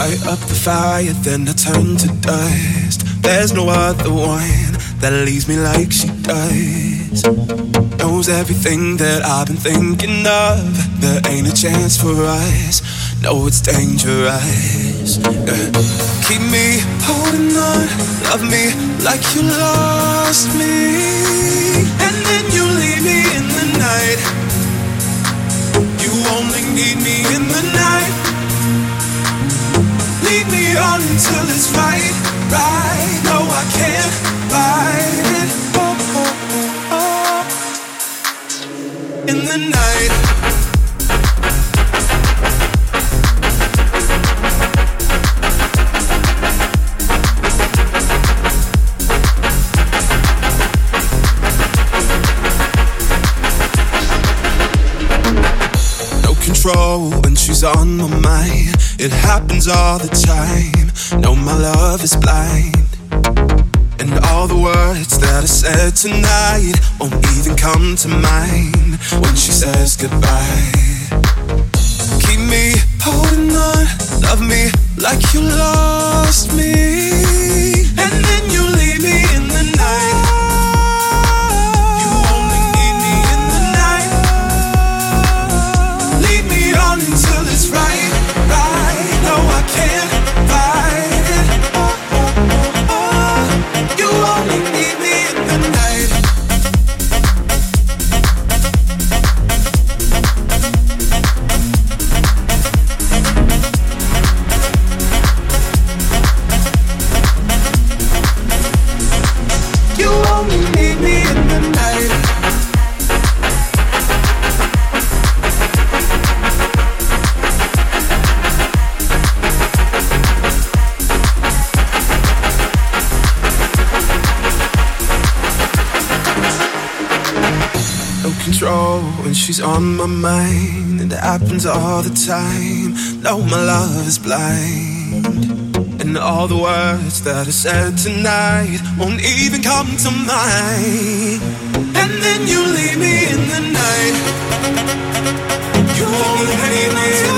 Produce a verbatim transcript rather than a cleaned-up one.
Light up the fire, then I turn to dust. There's no other one that leaves me like she does. Knows everything that I've been thinking of. There ain't a chance for us. No, it's dangerous. Yeah. Keep me holding on. Love me like you lost me. And then you leave me in the night. You only need me in the night. Lead me on until it's right, right. No, I can't fight it. Oh, oh, oh, oh. In the night. When she's on my mind, it happens all the time. No, my love is blind, and all the words that I said tonight won't even come to mind when she says goodbye. Keep me holding on, love me like you lost me, and then you leave me in the night. Until it's right, right. No, I can't fight it. Oh, oh, oh, oh. You only need me in the night. You only need me in the night. Control when she's on my mind, and it happens all the time. No, my love is blind, and all the words that I said tonight won't even come to mind. And then you leave me in the night. You only need me.